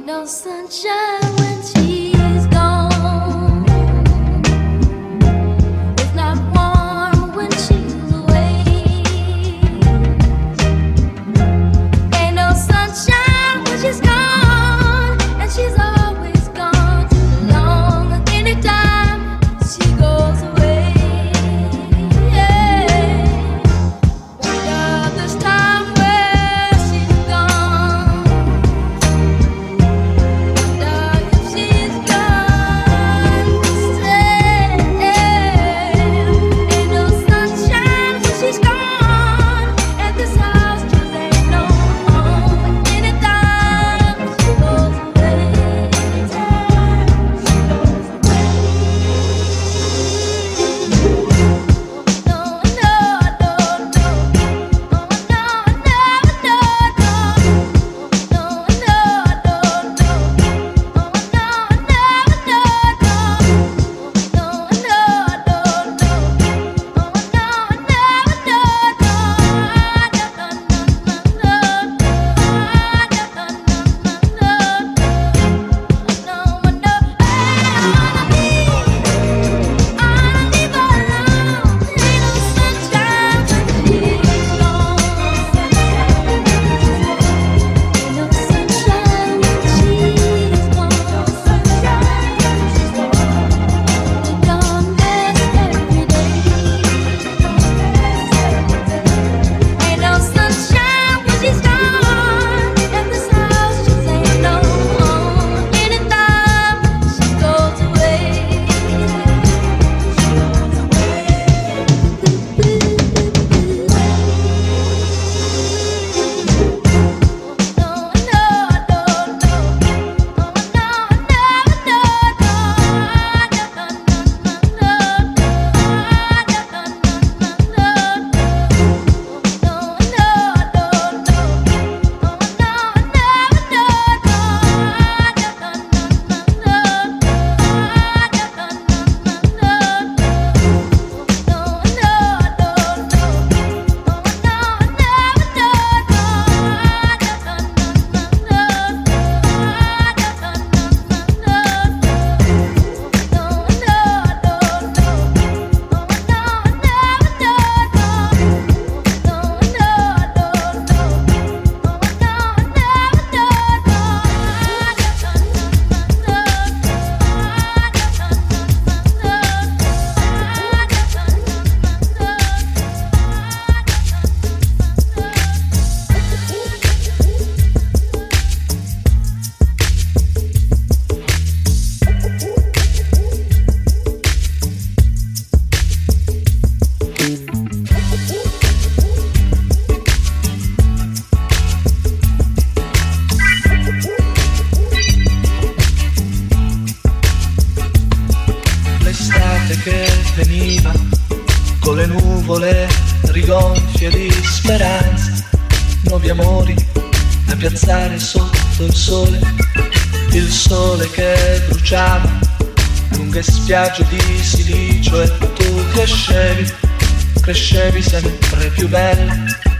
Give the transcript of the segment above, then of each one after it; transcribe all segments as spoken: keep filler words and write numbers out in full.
no sunshine when she's gone. It's not warm when she's away. Ain't no sunshine when she's gone, and she's always gone too long. Anytime she goes away, yeah. Wonder this time where she's gone. Wonder if she's gone to stay. Ain't no sunshine when she's gone, and this house just ain't no home. Anytime she goes away, anytime she goes away. No, no, no, no. Oh, no, no, no, no. No, no, no, no. Oh, no, no, no, no. No, no, no, no. Oh, no, no, l'estate che veniva con le nuvole rigonfie di speranza, nuovi amori da piazzare sotto il sole, il sole che bruciava lunghe spiagge di silicio, e tu crescevi, crescevi sempre più bella.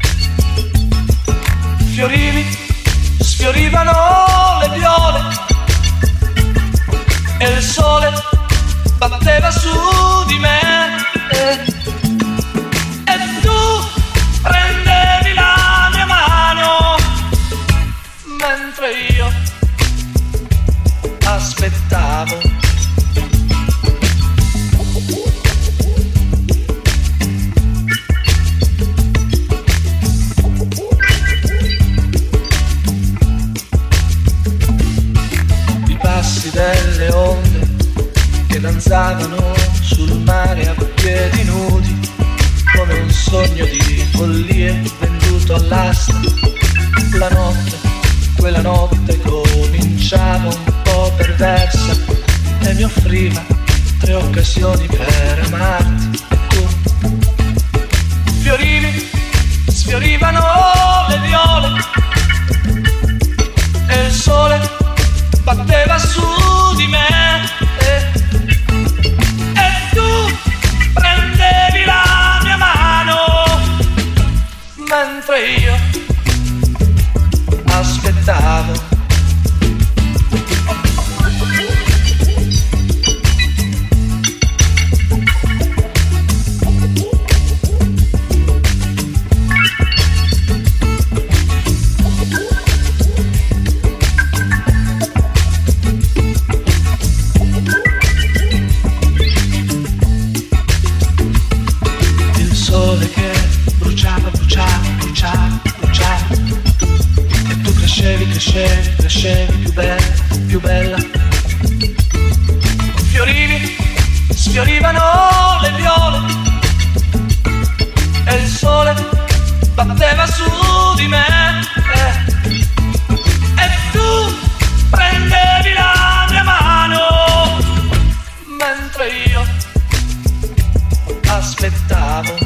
Fiorivi, sfiorivano le viole e il sole batteva su di me, e, e tu prendevi la mia mano mentre io aspettavo. I passi delle onde che danzavano sul mare a piedi nudi, come un sogno di follie venduto all'asta. La notte, quella notte cominciava un po' perversa e mi offriva tre occasioni per amarti. E tu fiorivi, sfiorivano le viole e il sole batteva su di me, e prendevi la mia mano mentre io aspettavo. più bella, più bella. Fiorivi, sfiorivano le viole e il sole batteva su di me eh. E tu prendevi la mia mano mentre io aspettavo.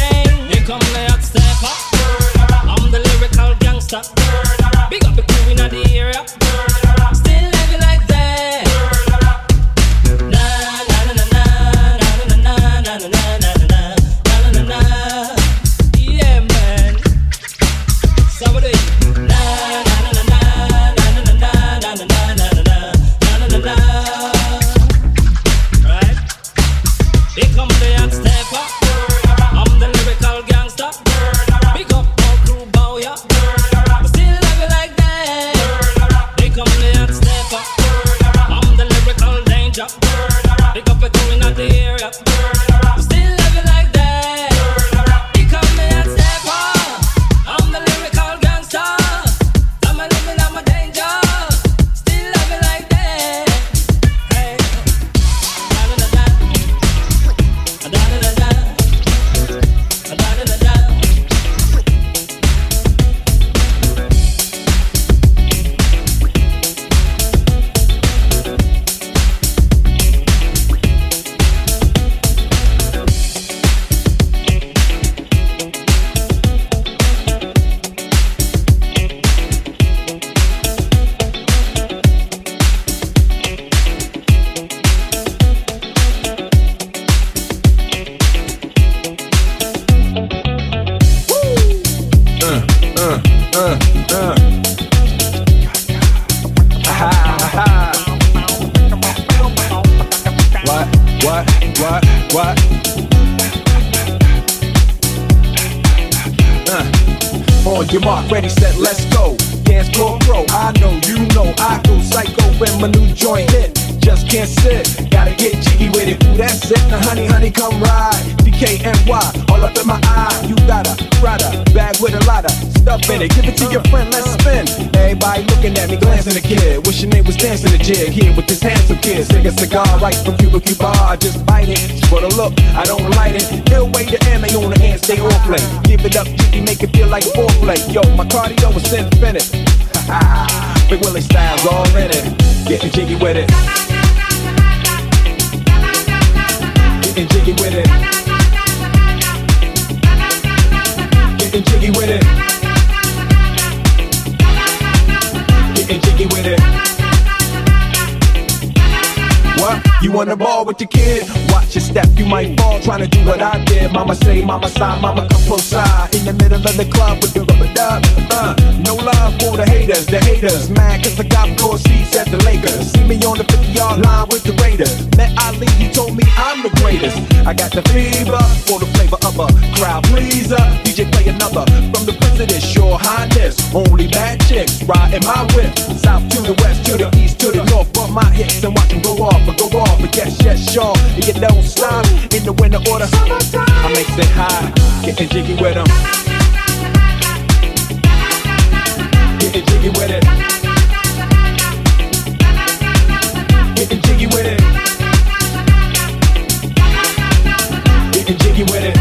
again. Here come the hot stepper. I'm the lyrical gangster. Big up the crew in the area. Still living like that. Na na na na na na na na na na na na na. Yeah, man. Somebody. Na na na na na na na na na na na na na. Right? Here come the hot stepper. I'm the lyrical gangster. Big up all crew bow ya. Still love you like that. They come the hot stepper. I'm the lyrical danger. Big up the crew in the area. Still love you like that. They come the hot stepper. I'm the lyrical gangster. I'm a living, I'm a danger. Still love you like that. Hey, da da da da, da da da da, da da da da. What? What? What? What? Uh. On your mark, ready, set, let's go. Dance floor pro, I know, you know, I go psycho when my new joint hit. Just can't sit, gotta get jiggy with it. Ooh, that's it, now honey, honey, come ride. D K N Y, all up in my eye. You got a Prada bag with a lot of stuff in it. Give it to your friend, let's spin. Everybody looking at me, glancing a kid. Wishing they was dancing a jig here with this handsome kid. Sing a cigar right from Cuba Cuba. I just bite it, for the look, I don't light it. Ill way to M A on the hand, stay on play. Give it up, jiggy, make it feel like foreplay. Yo, my cardio is infinite. Big Willie style's all in it. Getting jiggy with it. Getting jiggy with it. Getting jiggy with it. Getting jiggy with it. What? You on the ball with your kid? Watch your step, you might fall trying to do what I did. Mama say, mama sigh, mama come close side. In the middle of the club with the rubber dub. Uh, no love for the haters, the haters. Mad cause I got four seats at the Lakers. See me on the fifty yard line with the Raiders. Met Ali, he told me I'm the greatest. I got the fever for the flavor of a crowd pleaser. D J play another from the president, your highness. Only bad chicks riding my whip. South to the west, to the east, to the north. Bump my hips and watch them go off, but go off. But yes, yes, sure. And you don't stop in the winter order. I makes it high, getting jiggy with them. Getting jiggy with it. Getting jiggy with it. Getting jiggy with it.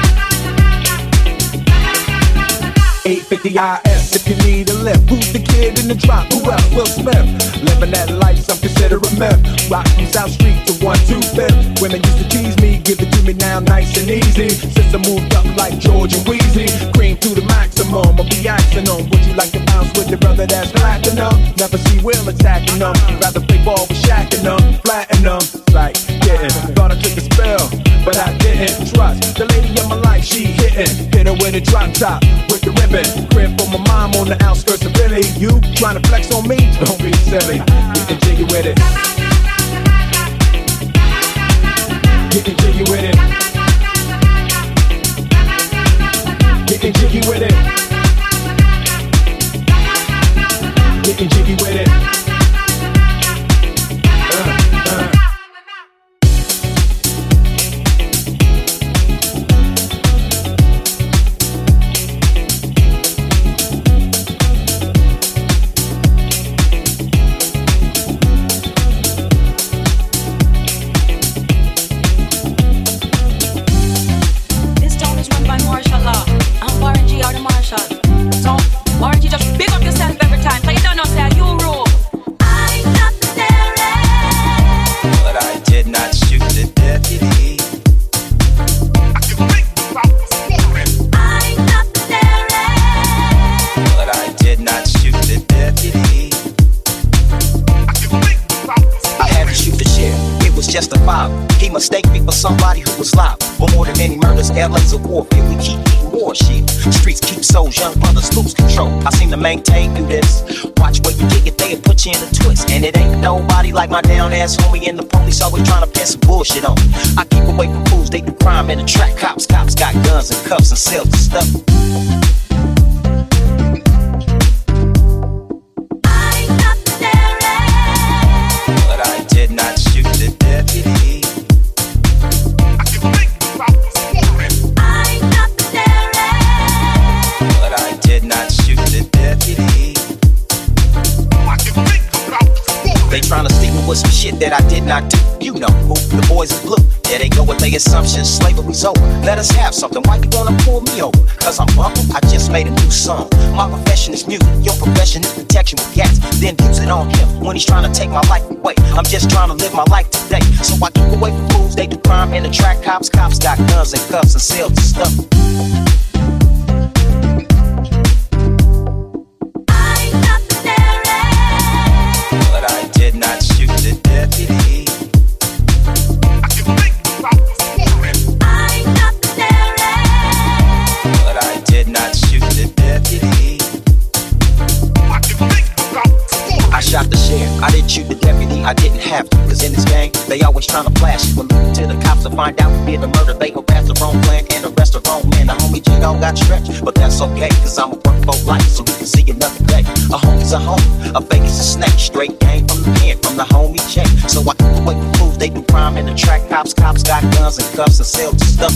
eight fifty I S if you need a lift. Who's the kid in the drop? Who else? Will Smith. Living that life, some consider a myth. Rock from South Street to one two fifth. Women used to tease me, give it to me now nice and easy. Since I moved up like George and Wheezy, cream to the maximum. I'll be asking them, would you like to bounce with your brother that's platinum? Never see Will attacking them. Rather play ball with Shaq and them, flatten them. Like, getting, thought I took a spell, but I didn't trust the lady of my life, she hitting. Hit her with a drop top, with the ribbon. Crib for my mom on the outskirts of Philly. You trying to flex on me? Don't be silly. Getting jiggy with it. Getting jiggy with it. Getting jiggy with it. Getting jiggy with it. Uh, uh. This town is run by martial law. I'm Warren G. out of Marshall. somebody who was live. For more than any murders, L A's a warfare. We keep eating more shit. Streets keep souls, young brothers lose control. I seem to maintain through this. Watch where you get it, they'll put you in a twist. And it ain't nobody like my down ass homie, and the police always trying to pin some bullshit on me. I keep away from fools, they do crime and attract cops. Cops got guns and cuffs and cells and stuff. With some shit that I did not do. You know who, the boys in blue. There they go with their assumptions, slavery's over. Let us have something, why you wanna pull me over? Cause I'm bumping, I just made a new song. My profession is music, your profession is protection with gas. Then use it on him when he's trying to take my life away. I'm just trying to live my life today. So I keep away from fools, they do crime and attract cops. Cops got guns and cuffs and cells and stuff. I didn't shoot the deputy, I didn't have to. Cause in this gang, they always tryna flash you. When to the cops to find out who did the murder, they harass the wrong plan and arrest the wrong man. The homie J Dog got stretched, but that's okay. Cause I'ma work for life so we can see another day. A homie's a homie, a fake is a snake. Straight game from the pen, from the homie J. So I keep away from fools, they do crime and attract cops. Cops got guns and cuffs and cells and stuff.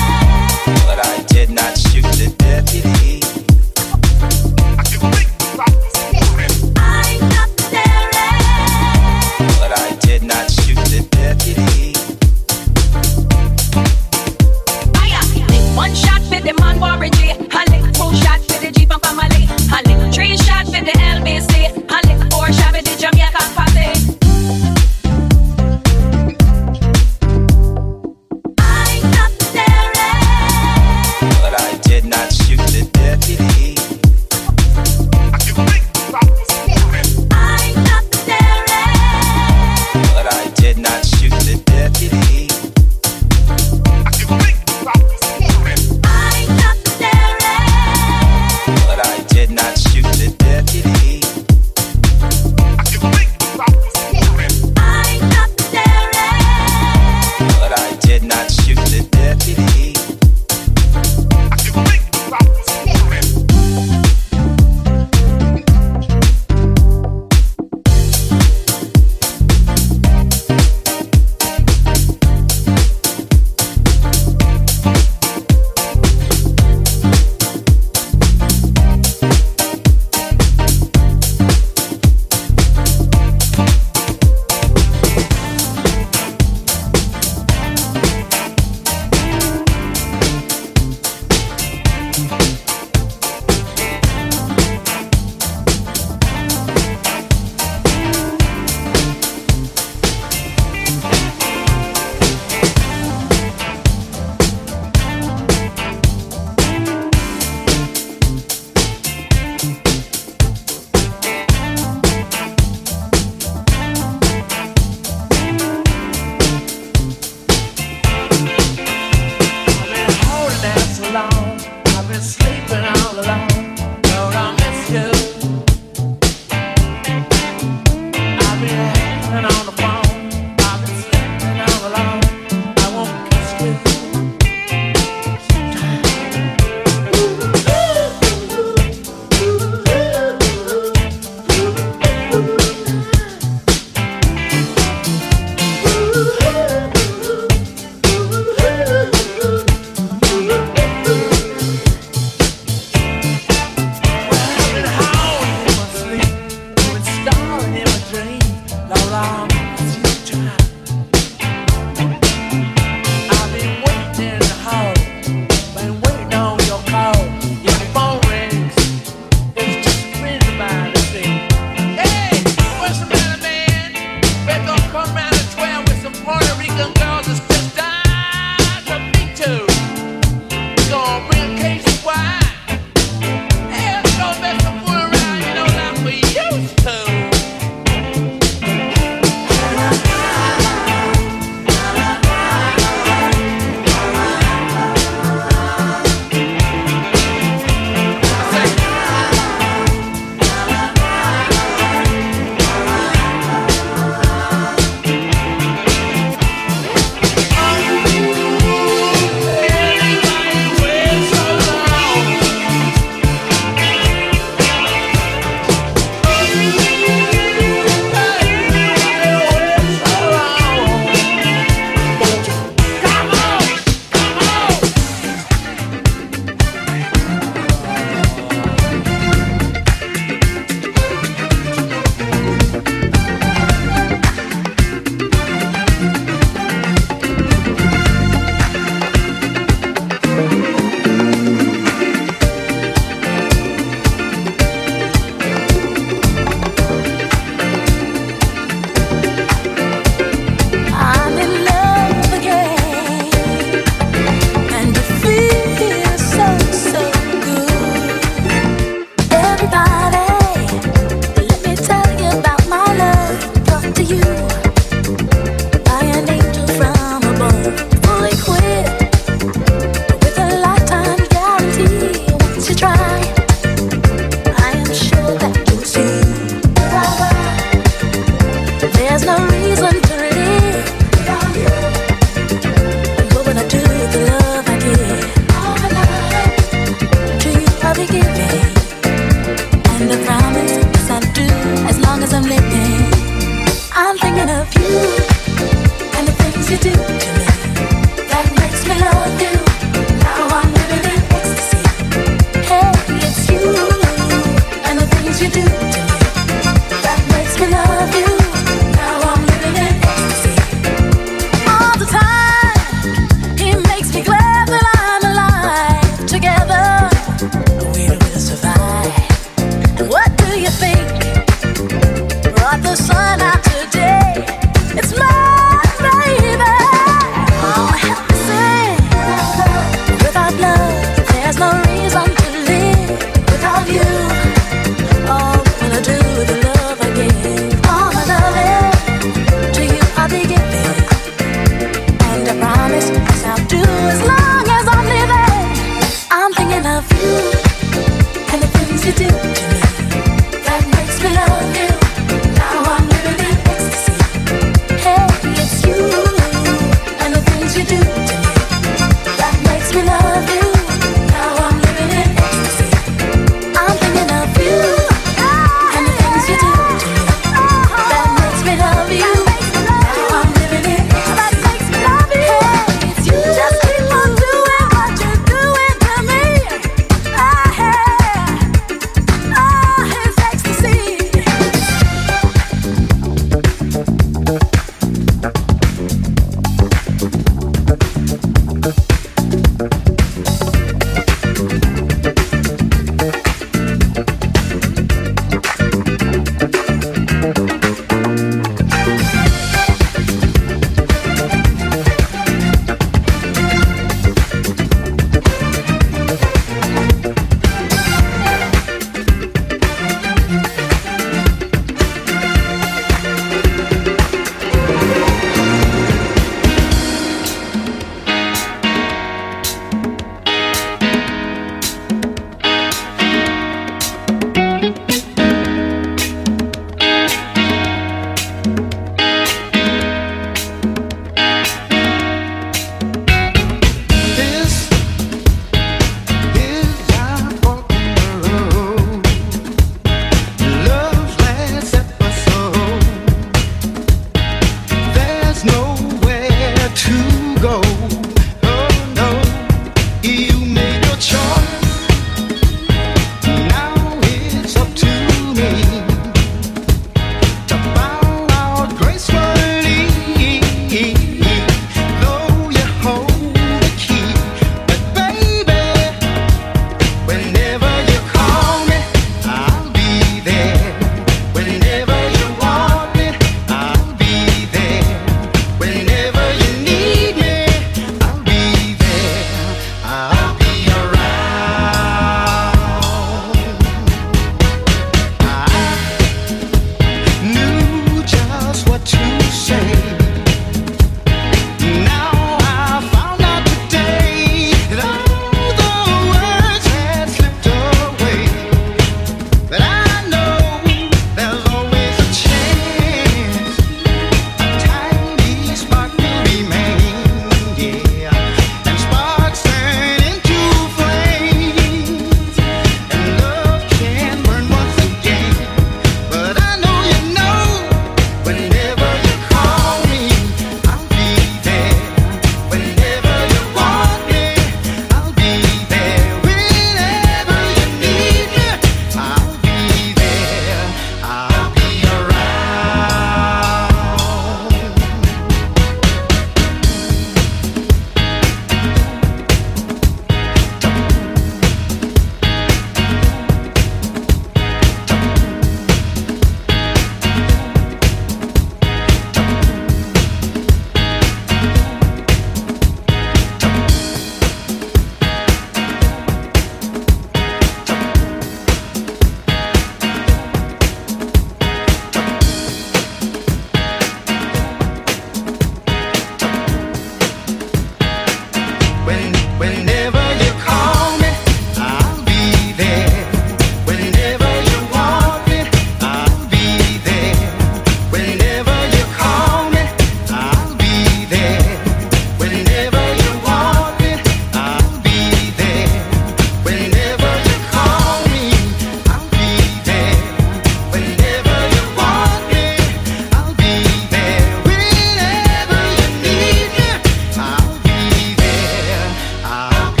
I'll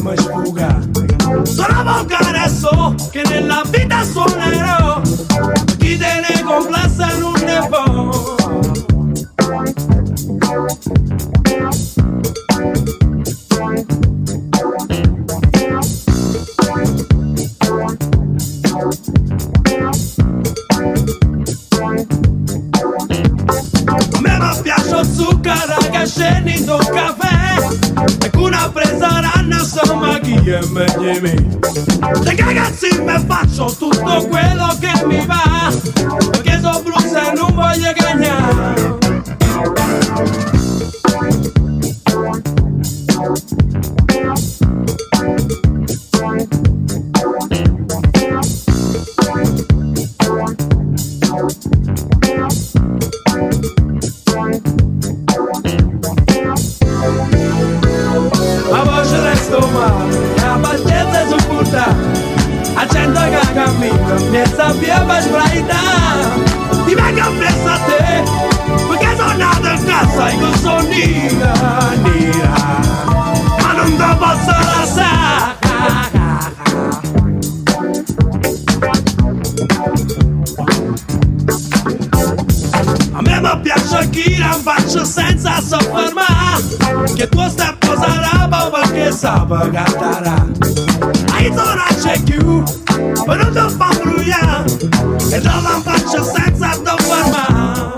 mi sfuga. Sono volgare so che nella vita suonerò, chi te ne complassa non ne può. A me mi piace zucchero che scendi sul caffè e con una presa ranna insomma chi è meglio me. Le ragazzi mi faccio tutto quello che mi va, perché sono blues e non voglio cagnare. La voce resto male, la pazienza è supportata, a cento che cammino, mi sappia per sbraitare. Ti vengo appresso a te, perché sono nato in casa e con sono nera, nera, ma non te posso lasciare. A me mi piace chi non faccio senza soffermare, che tu stai posando perché sape cantare. Hai non c'è più, ma non ti fa brugliare, e non la faccio senza soffermare.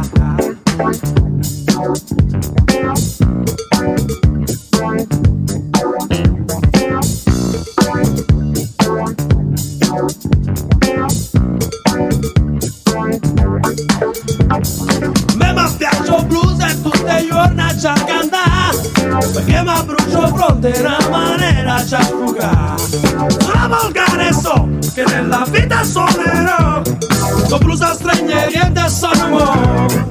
Me mi piace il blues e tutte le giorni c'è cantare, perché mi brucio fronte in una maniera c'è sfugare. Sono volgare so che nella vita suonerò, con blues a stranieri e da sono mo.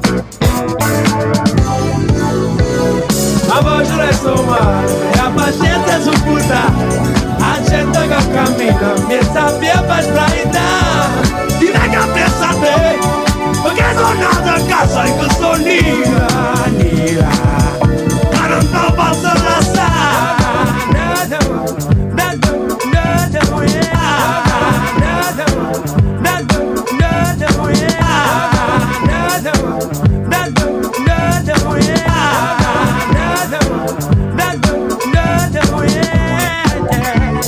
La voce resto male, la pazienza è supportata, a cento che cammino, mi sappia per sbraitare. Ti vengo appresso a te, perché sono nato a casa in questo nera, nera, ma non te posso lasciare. No, no, no, no, no, yeah. No, no, no, no, no, yeah. No, no, no, no, no, yeah. No, no, no, no, yeah.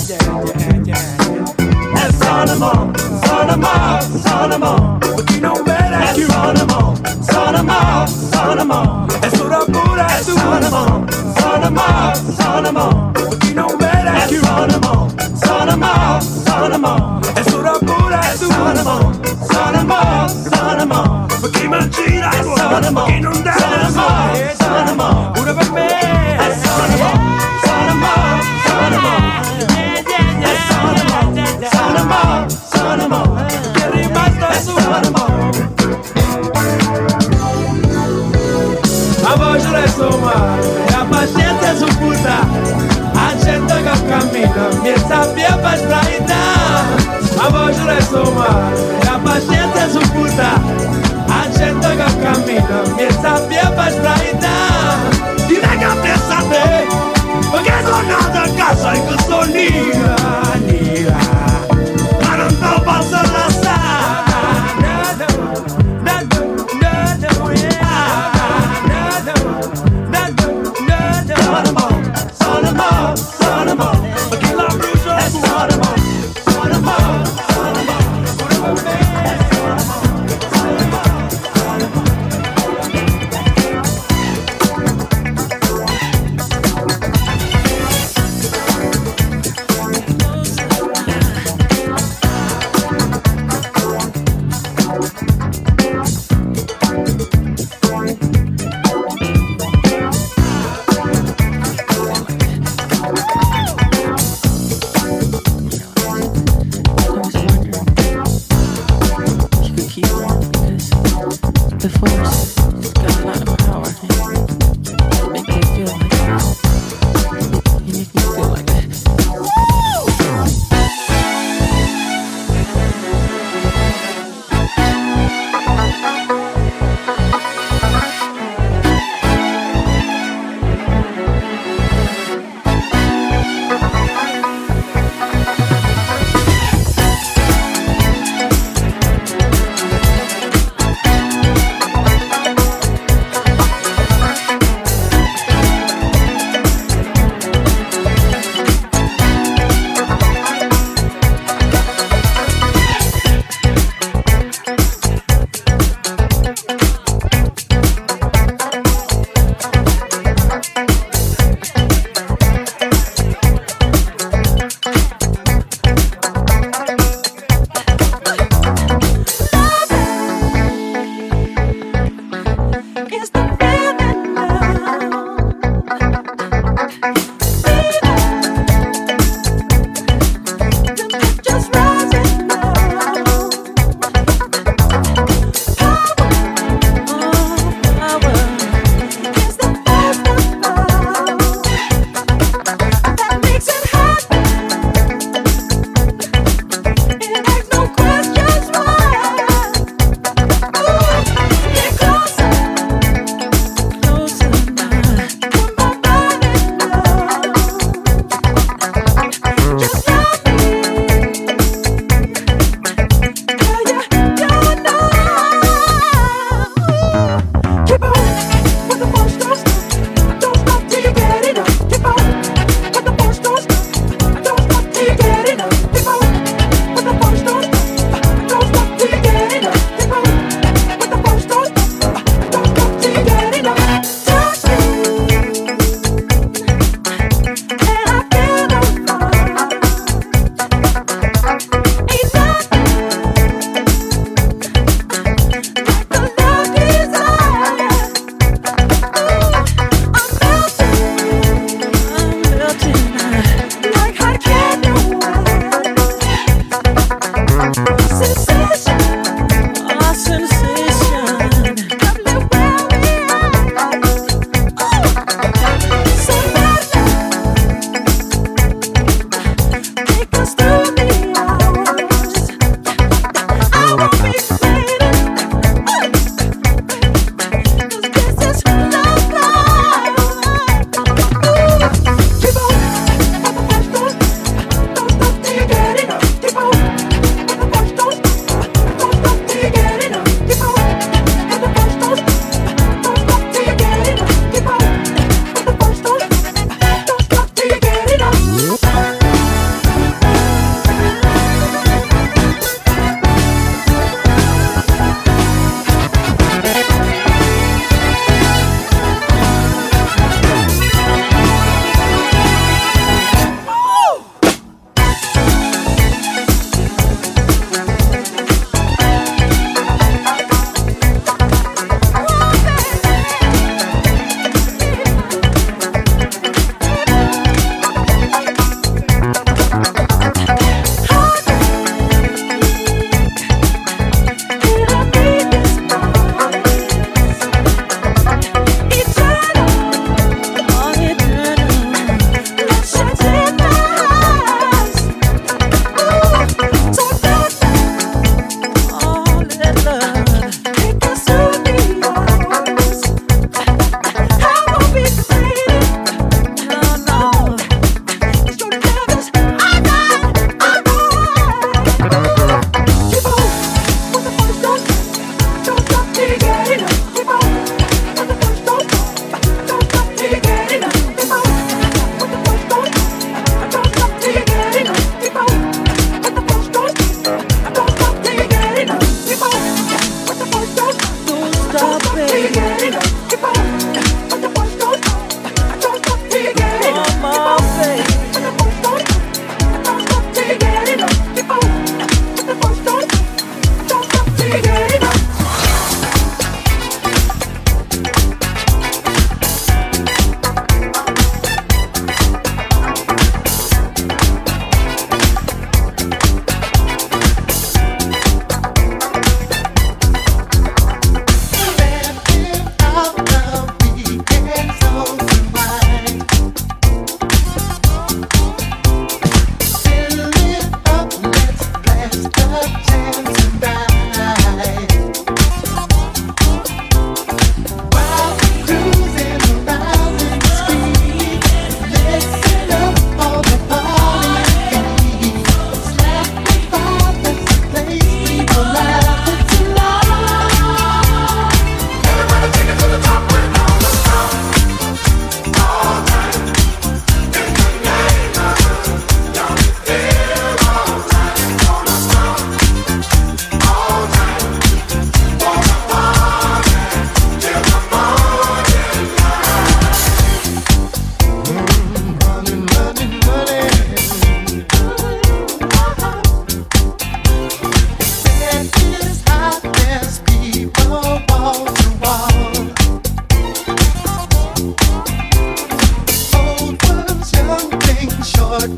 E sono mo, sono mo, sono mo, perché non vede più. Sono mo, sono mo, sono mo, e sono pure tu. Sono mo, sono mo, sono mo, perché non vede più. Sono mo, sono mo, sono mo, e sono pure tu. Sono mo, sono mo, sono mo, perché mi gira il cuore, perché non deve essere. Sono mo, pure per me. Sono mo, sono mo, sono mo, e sono mo, sono mo, sono mo, che è rimasto è sono mo. La voce resto male, la pazienza è supportata, a cento che cammino, mi sappia per sbraitare. La voce resto male, la pazienza è supportata, a cento che cammino, mi sappia per sbraitare. Ti vengo appresso a te, perché sono nato a casa in questo nera, nera, ma non te posso lasciare. Sono mo, sono mo, sono mo, perché la brucio è sono mo, sono mo, sono mo, pure per me. Sono mo, sono mo, sono mo,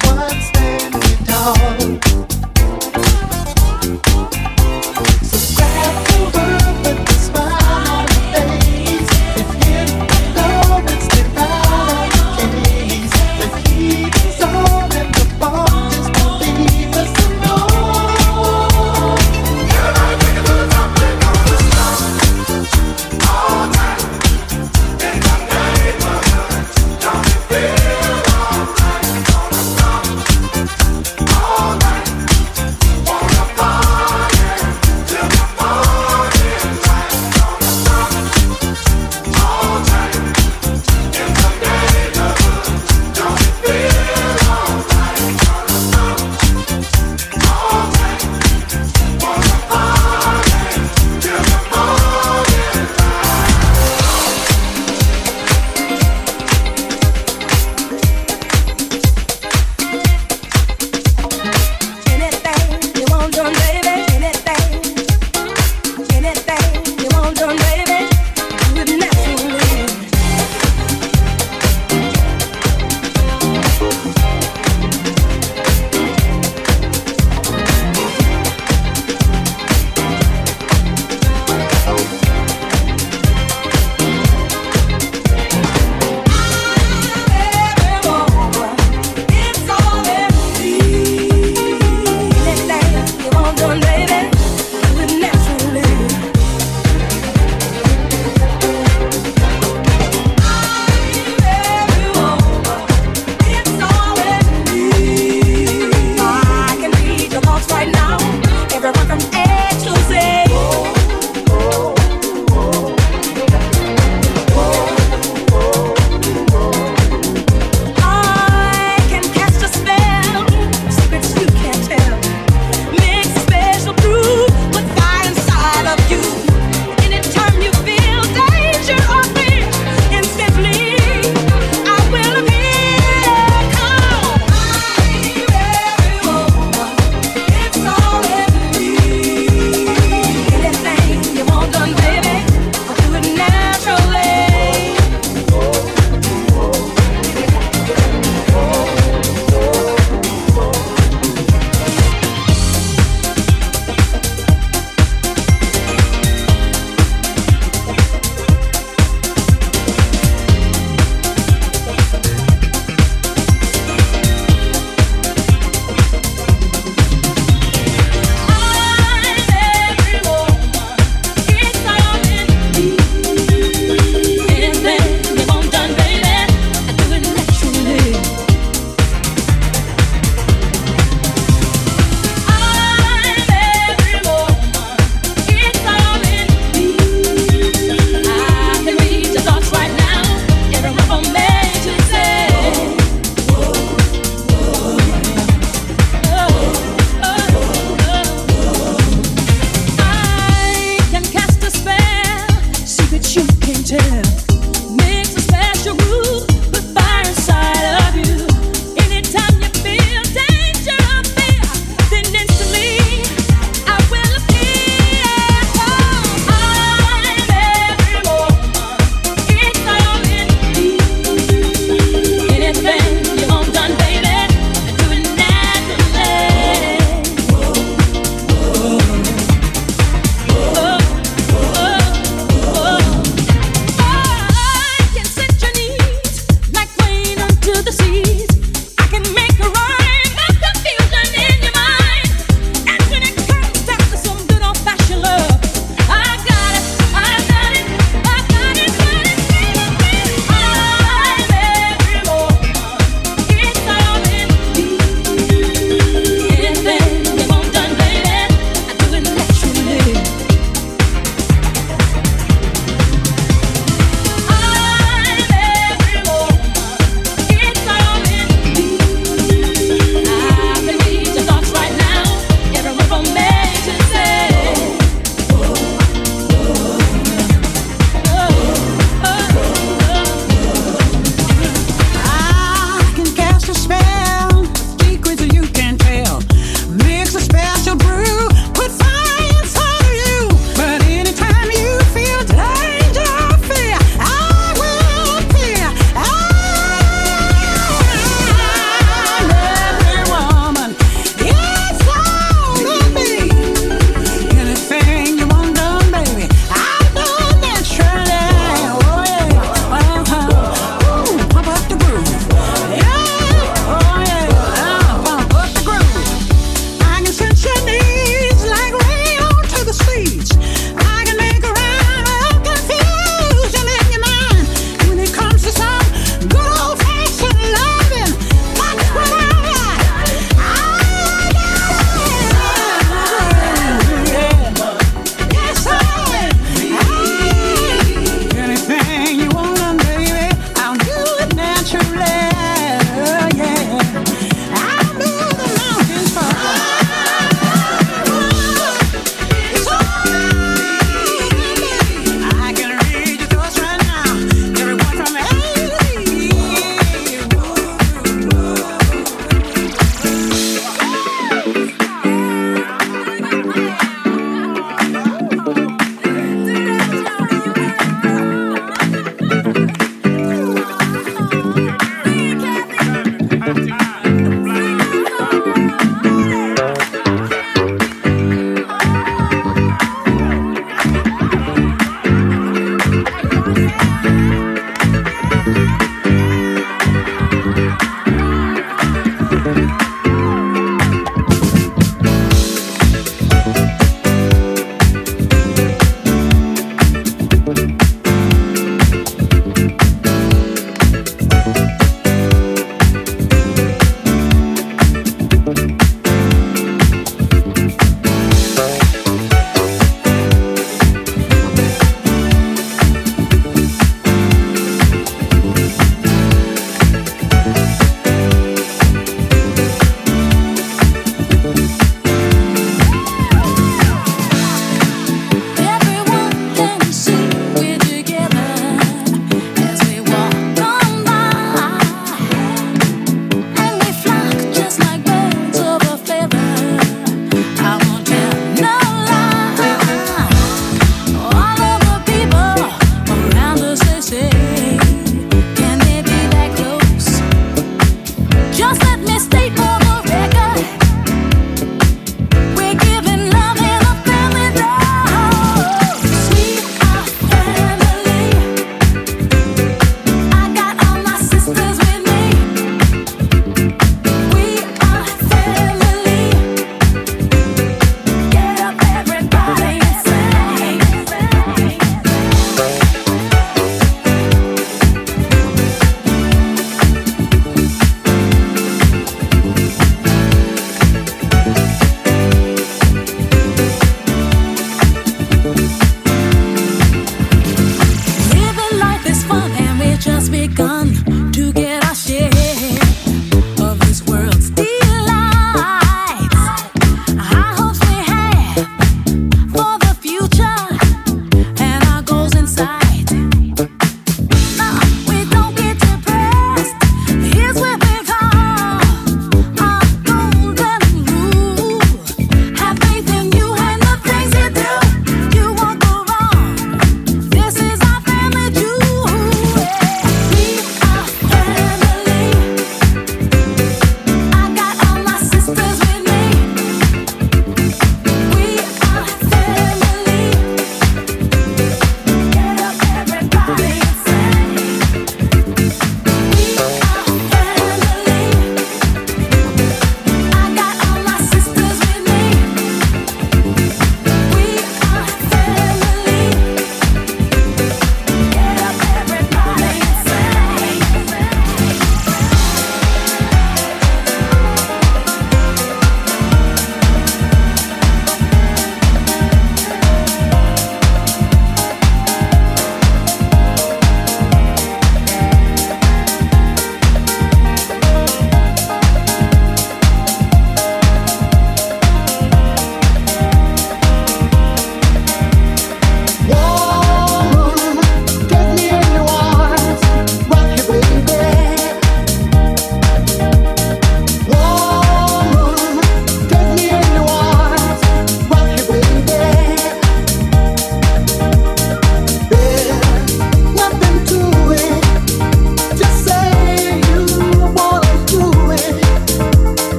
All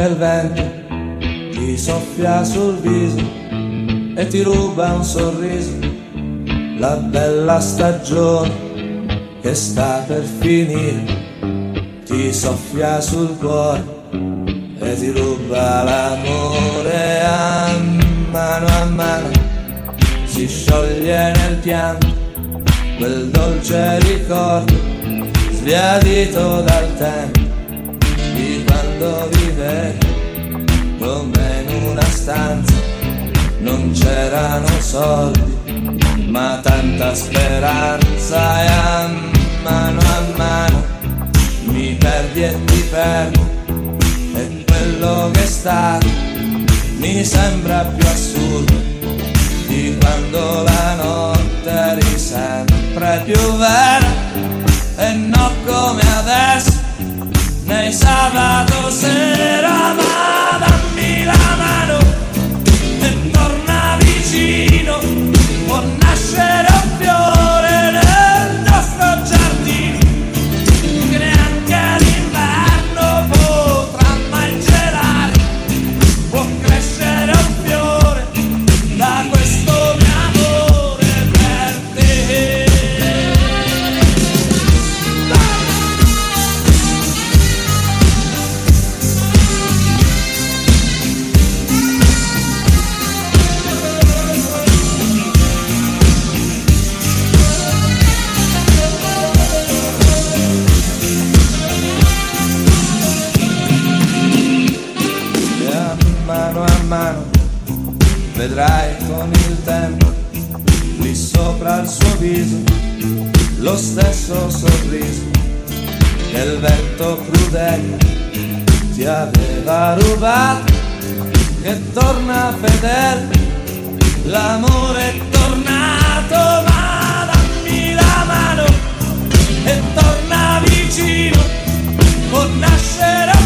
il vento ti soffia sul viso e ti ruba un sorriso, la bella stagione che sta per finire ti soffia sul cuore e ti ruba l'amore. A mano a mano si scioglie nel pianto quel dolce ricordo sbiadito dal tempo di quando vivevi come in una stanza. Non c'erano soldi ma tanta speranza, e a mano a mano mi perdi e ti perdo, e quello che è stato mi sembra più assurdo di quando la notte eri sempre più vera, e non come adesso nei sabato sera. Ma dammi la mano e torna vicino, può nascere un fiore nel nostro giardino che neanche l'inverno potrà mai gelare, può crescere un fiore da questo mio amore per te. Mano a mano vedrai con il tempo lì sopra il suo viso lo stesso sorriso che il vento crudele ti aveva rubato, che torna fedele, l'amore è tornato. Ma dammi la mano e torna vicino, può nascere